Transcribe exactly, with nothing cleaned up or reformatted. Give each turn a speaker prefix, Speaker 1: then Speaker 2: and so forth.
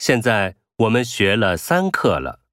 Speaker 1: 现在我们学了三课了。